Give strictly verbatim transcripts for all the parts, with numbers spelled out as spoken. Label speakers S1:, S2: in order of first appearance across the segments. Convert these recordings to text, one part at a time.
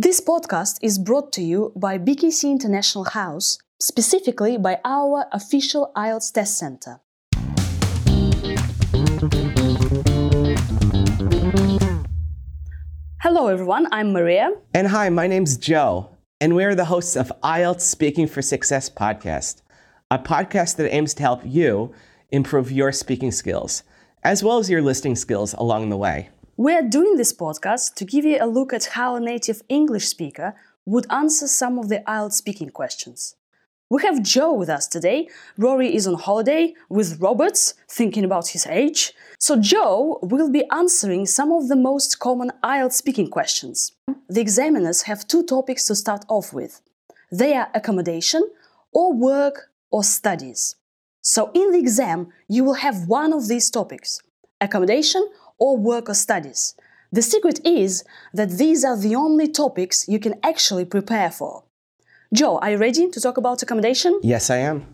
S1: This podcast is brought to you by B K C International House, specifically by our official I E L T S test center. Hello everyone, I'm Maria.
S2: And hi, my name's Joe, and we're the hosts of I E L T S Speaking for Success podcast, a podcast that aims to help you improve your speaking skills, as well as your listening skills along the way.
S1: We're doing this podcast to give you a look at how a native English speaker would answer some of the I E L T S speaking questions. We have Joe with us today. Rory is on holiday with Roberts, thinking about his age. So Joe will be answering some of the most common I E L T S speaking questions. The examiners have two topics to start off with. They are accommodation, or work, or studies. So in the exam, you will have one of these topics, accommodation, or work or studies. The secret is that these are the only topics you can actually prepare for. Joe, are you ready to talk about accommodation?
S2: Yes, I am.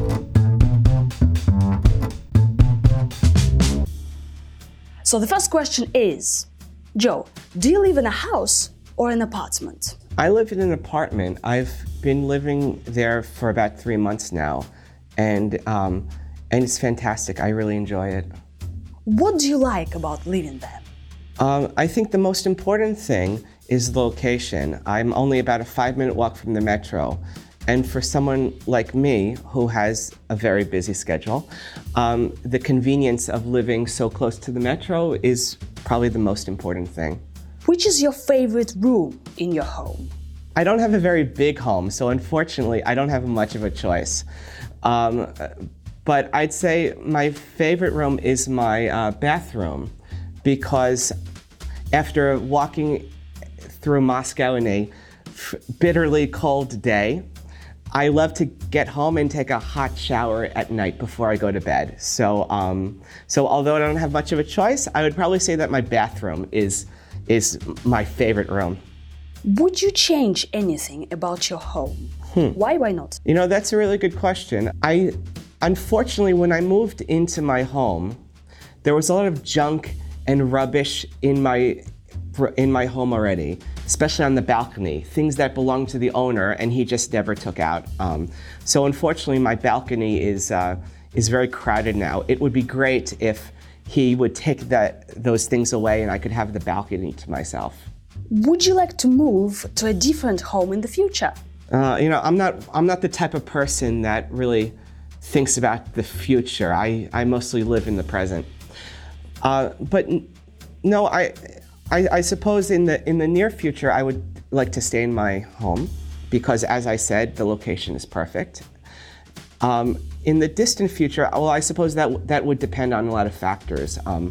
S1: So the first question is, Joe, do you live in a house or an apartment?
S2: I live in an apartment. I've been living there for about three months now, and um, and it's fantastic. I really enjoy it.
S1: What do you like about living there?
S2: Um, I think the most important thing is the location. I'm only about a five-minute walk from the metro. And for someone like me, who has a very busy schedule, um, the convenience of living so close to the metro is probably the most important thing.
S1: Which is your favorite room in your home?
S2: I don't have a very big home, so unfortunately, I don't have much of a choice. Um, but I'd say my favorite room is my uh, bathroom, because after walking through Moscow in a f- bitterly cold day, I love to get home and take a hot shower at night before I go to bed. So, um, so although I don't have much of a choice, I would probably say that my bathroom is is my favorite room.
S1: Would you change anything about your home?
S2: Hmm.
S1: Why, why not?
S2: You know, that's a really good question. I, unfortunately, when I moved into my home, there was a lot of junk and rubbish in my in my home already, especially on the balcony, things that belonged to the owner and he just never took out. Um, so unfortunately, my balcony is uh, is very crowded now. It would be great if he would take that those things away and I could have the balcony to myself.
S1: Would you like to move to a different home in the future?
S2: Uh, you know, I'm not I'm not the type of person that really thinks about the future. I, I mostly live in the present. Uh, but no, I, I I suppose in the in the near future I would like to stay in my home because, as I said, the location is perfect. Um, in the distant future, well, I suppose that that would depend on a lot of factors. Um,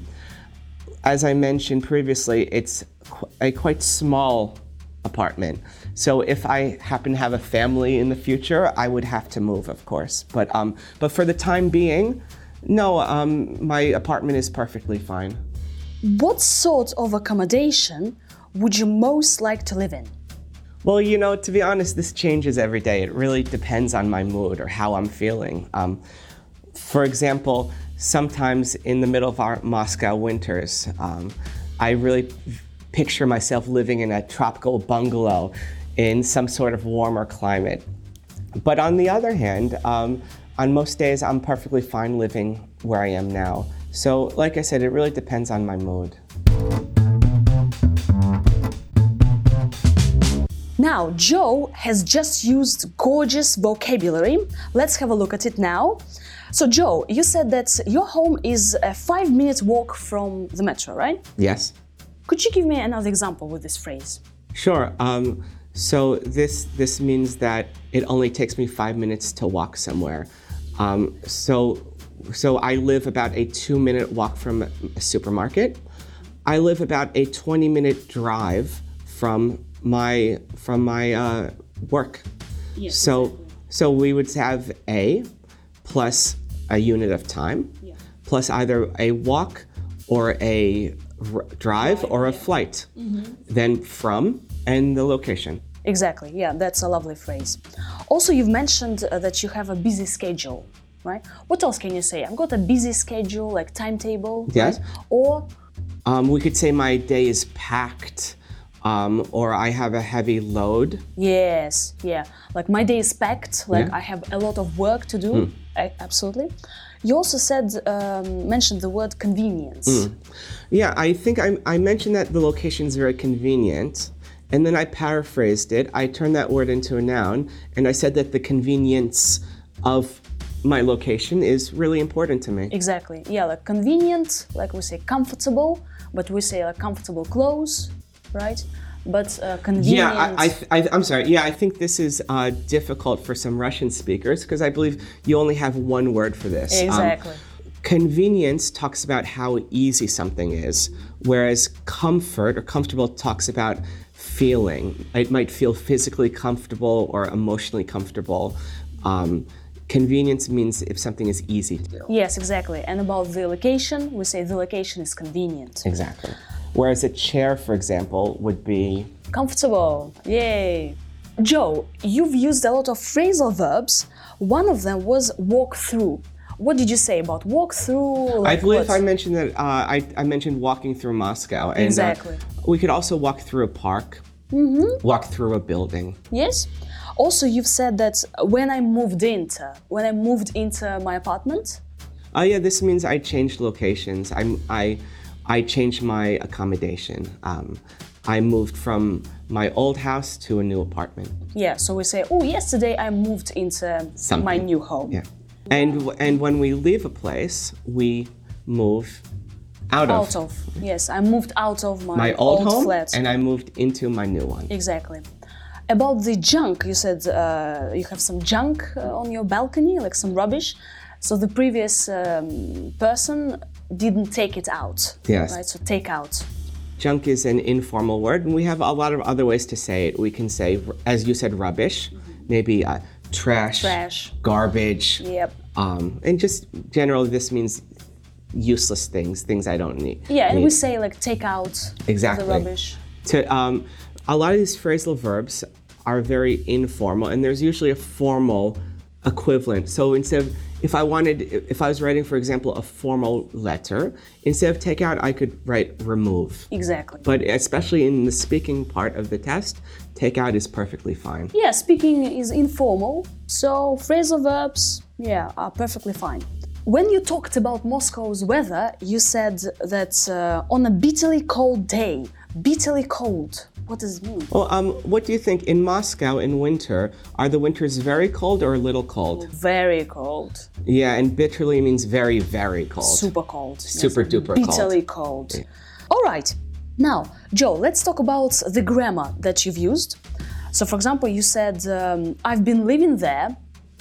S2: as I mentioned previously, it's qu- a quite small apartment. So if I happen to have a family in the future, I would have to move, of course. But um, but for the time being, no, um, my apartment is perfectly fine.
S1: What sort of accommodation would you most like to live in?
S2: Well, you know, to be honest, this changes every day. It really depends on my mood or how I'm feeling. Um, for example, sometimes in the middle of our Moscow winters, um, I really picture myself living in a tropical bungalow in some sort of warmer climate. But on the other hand, um, on most days, I'm perfectly fine living where I am now. So, like I said, it really depends on my mood.
S1: Now, Joe has just used gorgeous vocabulary. Let's have a look at it now. So, Joe, you said that your home is a five-minute walk from the metro, right?
S2: Yes.
S1: Could you give me another example with this phrase?
S2: Sure. Um, so this this means that it only takes me five minutes to walk somewhere. Um, so so I live about a two-minute walk from a supermarket. I live about a twenty-minute drive from my from my uh, work.
S1: Yes,
S2: so
S1: exactly.
S2: so we would have a plus a unit of time,
S1: Yeah.
S2: plus either a walk or a r- drive or a flight,
S1: Mm-hmm.
S2: then from and the location.
S1: Exactly, yeah, that's a lovely phrase. Also, you've mentioned uh, that you have a busy schedule, right? What else can you say? I've got a busy schedule, like timetable,
S2: Yes.
S1: right? Or
S2: Um, we could say my day is packed. Um, or I have a heavy load.
S1: Yes, yeah. Like my day is packed, like
S2: Yeah.
S1: I have a lot of work to do.
S2: Mm.
S1: I, absolutely. You also said, um, mentioned the word convenience.
S2: Mm. Yeah, I think I, I mentioned that the location is very convenient, and then I paraphrased it. I turned that word into a noun, and I said that the convenience of my location is really important to me.
S1: Exactly. Yeah, like convenient, like we say comfortable, but we say like comfortable clothes, right? But uh, convenient.
S2: Yeah, I, I, I, I'm sorry. Yeah, I think this is uh, difficult for some Russian speakers because I believe you only have one word for this.
S1: Exactly.
S2: Um, convenience talks about how easy something is, whereas comfort or comfortable talks about feeling. It might feel physically comfortable or emotionally comfortable. Um, convenience means if something is easy to do.
S1: Yes, exactly. And about the location, we say the location is convenient.
S2: Exactly. Whereas a chair, for example, would be
S1: Comfortable. Yay. Joe, you've used a lot of phrasal verbs. One of them was walk through. What did you say about walk through? Like
S2: I believe
S1: what?
S2: I mentioned that uh, I, I mentioned walking through Moscow. And,
S1: Exactly.
S2: Uh, we could also walk through a park,
S1: Mm-hmm.
S2: walk through a building.
S1: Yes. Also, you've said that when I moved into, when I moved into my apartment.
S2: Oh yeah, this means I changed locations. I, I, I changed my accommodation. Um, I moved from my old house to a new apartment.
S1: Yeah, so we say, oh, yesterday I moved into
S2: Something.
S1: my new home.
S2: Yeah. And, and when we leave a place, we move out of,
S1: Out of, yes, I moved out of my,
S2: my old, home
S1: flat.
S2: and I moved into my new one.
S1: Exactly. About the junk, you said uh, you have some junk uh, on your balcony, like some rubbish. So the previous um, person didn't take it out.
S2: Yes.
S1: Right, so take out.
S2: Junk is an informal word, and we have a lot of other ways to say it. We can say, as you said, rubbish, maybe uh, trash,
S1: Trash.
S2: garbage,
S1: Yep.
S2: um, and just generally this means useless things, things I don't need.
S1: Yeah, and
S2: need.
S1: we say like take out
S2: Exactly.
S1: the rubbish.
S2: To, um, a lot of these phrasal verbs are very informal, and there's usually a formal equivalent. So instead of, if I wanted, if I was writing, for example, a formal letter, instead of take out, I could write remove.
S1: Exactly.
S2: But especially in the speaking part of the test, take out is perfectly fine.
S1: Yeah, speaking is informal, so phrasal verbs, yeah, are perfectly fine. When you talked about Moscow's weather, you said that uh, on a bitterly cold day, bitterly cold. What does it mean?
S2: Well, um, what do you think in Moscow in winter? Are the winters very cold or a little cold?
S1: Very cold.
S2: Yeah, and bitterly means very, very cold.
S1: Super cold.
S2: Super
S1: yes,
S2: duper cold.
S1: Bitterly cold. All right. Now, Joe, let's talk about the grammar that you've used. So, for example, you said, um, I've been living there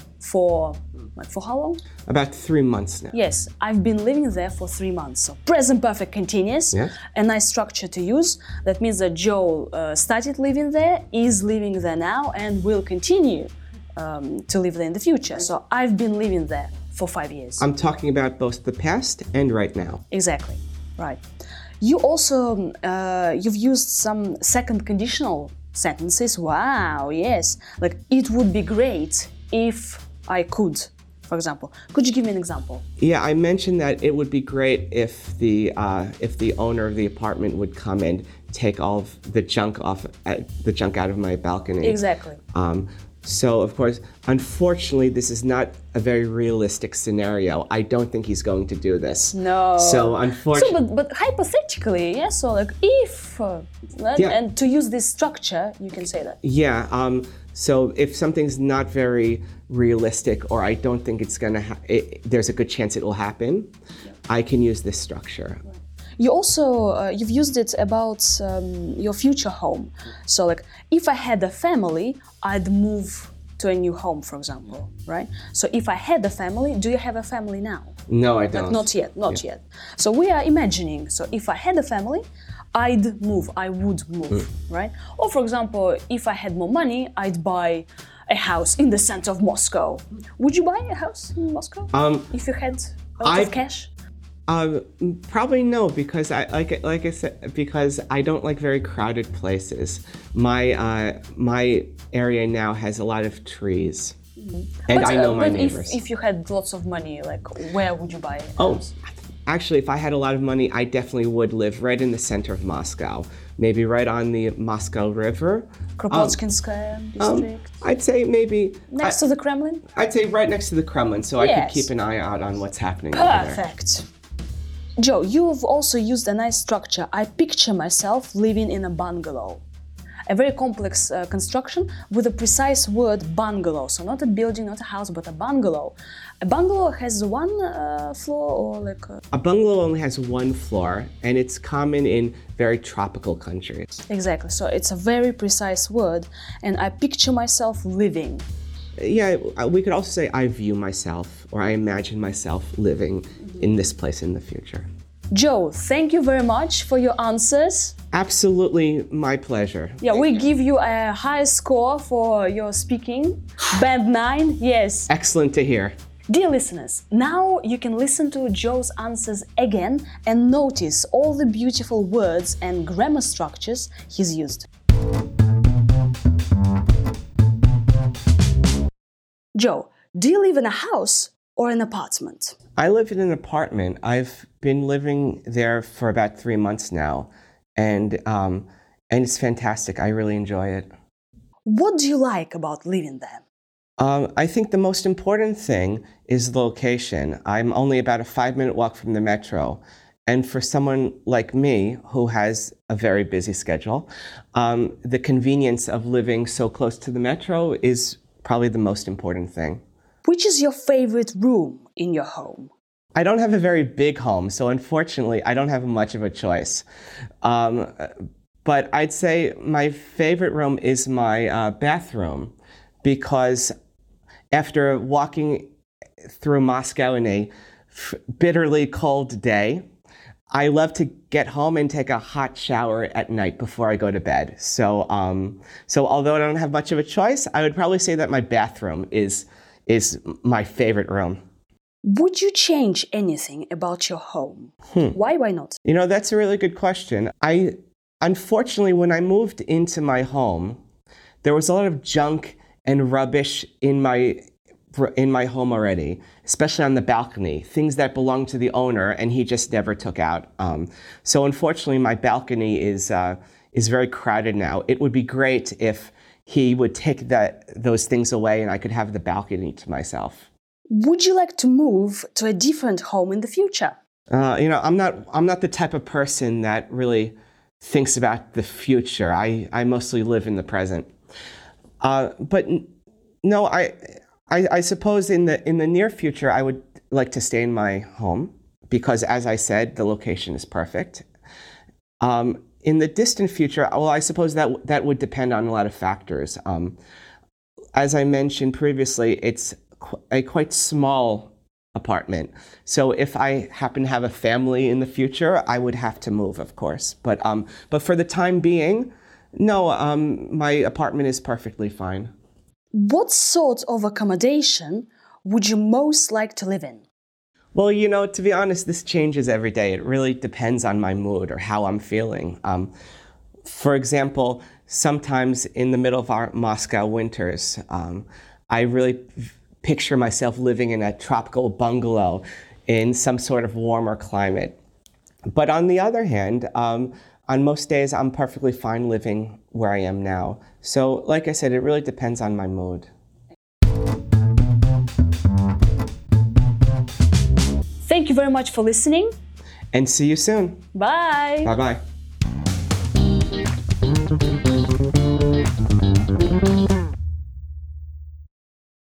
S1: for, like, for how long?
S2: About three months now.
S1: Yes, I've been living there for three months. So present perfect continuous,
S2: Yes.
S1: a nice structure to use. That means that Joe uh, started living there, is living there now, and will continue um, to live there in the future. So I've been living there for five years.
S2: I'm talking about both the past and right now.
S1: Exactly, right. You also, uh, you've used some second conditional sentences. Wow, yes. Like, it would be great if I could. For example, could you give me an example?
S2: Yeah, I mentioned that it would be great if the uh, if the owner of the apartment would come and take all of the junk off uh, the junk out of my balcony.
S1: Exactly.
S2: Um, so of course, unfortunately, this is not a very realistic scenario. I don't think he's going to do this.
S1: No.
S2: So unfortunately,
S1: So, but, but hypothetically, yeah. So like if, uh, and,
S2: Yeah.
S1: and to use this structure, you can say that.
S2: yeah. Um, so if something's not very realistic, or I don't think it's gonna, ha- it, there's a good chance it will happen, I can use this structure.
S1: You also uh, you've used it about um, your future home. So like if I had a family, I'd move to a new home, for example, right? So if I had a family, do you have a family now?
S2: No, I don't.
S1: Like not yet, not
S2: Yeah.
S1: yet. So we are imagining. So if I had a family, I'd move. I would move, right? Or for example, if I had more money, I'd buy a house in the center of Moscow. Would you buy a house in Moscow
S2: Um,
S1: if you had a lot
S2: I-
S1: of cash?
S2: Um, probably no, because I like like I said, because I don't like very crowded places. My uh, my area now has a lot of trees, and
S1: But,
S2: I know
S1: uh,
S2: my
S1: but
S2: neighbors.
S1: If, if you had lots of money, like where would you buy a
S2: oh,
S1: house?
S2: actually, if I had a lot of money, I definitely would live right in the center of Moscow, maybe right on the Moscow River.
S1: Kropotkinskaya
S2: Um,
S1: district.
S2: I'd say maybe
S1: Next
S2: I,
S1: to the Kremlin?
S2: I'd say right next to the Kremlin, so I
S1: Yes.
S2: could keep an eye out on what's happening over there.
S1: Perfect. Joe, you've also used a nice structure. I picture myself living in a bungalow. A very complex uh, construction with a precise word bungalow. So not a building, not a house, but a bungalow. A bungalow has one uh, floor or like a...
S2: A bungalow only has one floor, and it's common in very tropical countries.
S1: Exactly. So it's a very precise word, and I picture myself living.
S2: Yeah, we could also say I view myself, or I imagine myself living in this place in the future.
S1: Joe, thank you very much for your answers.
S2: Absolutely my pleasure.
S1: Yeah,
S2: Thank
S1: we
S2: you.
S1: give you a high score for your speaking. Band nine, yes.
S2: Excellent to hear.
S1: Dear listeners, now you can listen to Joe's answers again and notice all the beautiful words and grammar structures he's used. Joe, do you live in a house or an apartment?
S2: I live in an apartment. I've been living there for about three months now, and um, and it's fantastic. I really enjoy it.
S1: What do you like about living there?
S2: Um, I think the most important thing is the location. I'm only about a five-minute walk from the metro, and for someone like me who has a very busy schedule, um, the convenience of living so close to the metro is probably the most important thing.
S1: Which is your favorite room in your home?
S2: I don't have a very big home, so unfortunately, I don't have much of a choice. Um, but I'd say my favorite room is my uh, bathroom, because after walking through Moscow in a f- bitterly cold day, I love to get home and take a hot shower at night before I go to bed. So, um, so although I don't have much of a choice, I would probably say that my bathroom is is my favorite room.
S1: Would you change anything about your home?
S2: Hmm.
S1: Why, why not?
S2: You know, that's a really good question. I, unfortunately, when I moved into my home, there was a lot of junk and rubbish in my in my home already, especially on the balcony, things that belonged to the owner and he just never took out. Um, so unfortunately, my balcony is uh, is very crowded now. It would be great if he would take that those things away and I could have the balcony to myself.
S1: Would you like to move to a different home in the future?
S2: Uh, you know, I'm not I'm not the type of person that really thinks about the future. I, I mostly live in the present. Uh, but no, I, I I suppose in the in the near future I would like to stay in my home because, as I said, the location is perfect. Um, in the distant future, well, I suppose that that would depend on a lot of factors. Um, as I mentioned previously, it's qu- a quite small apartment. So if I happen to have a family in the future, I would have to move, of course. But um, but for the time being, no, um, my apartment is perfectly fine.
S1: What sort of accommodation would you most like to live in?
S2: Well, you know, to be honest, this changes every day. It really depends on my mood or how I'm feeling. Um, for example, sometimes in the middle of our Moscow winters, um, I really picture myself living in a tropical bungalow in some sort of warmer climate. But on the other hand, um, on most days, I'm perfectly fine living where I am now. So, like I said, it really depends on my mood.
S1: Thank you very much for listening.
S2: And see you soon.
S1: Bye.
S2: Bye-bye.